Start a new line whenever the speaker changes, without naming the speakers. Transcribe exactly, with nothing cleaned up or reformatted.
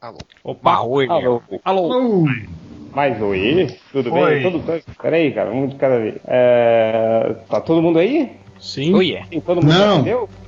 Alô.
Opa, oi.
Alô.
Alô.
Mais oi. Tudo
Oi.
bem? Tudo... Peraí, cara, vamos de cada vez. É... Tá todo mundo aí?
Sim.
Oi, é.
Sim, todo mundo
Não.
entendeu?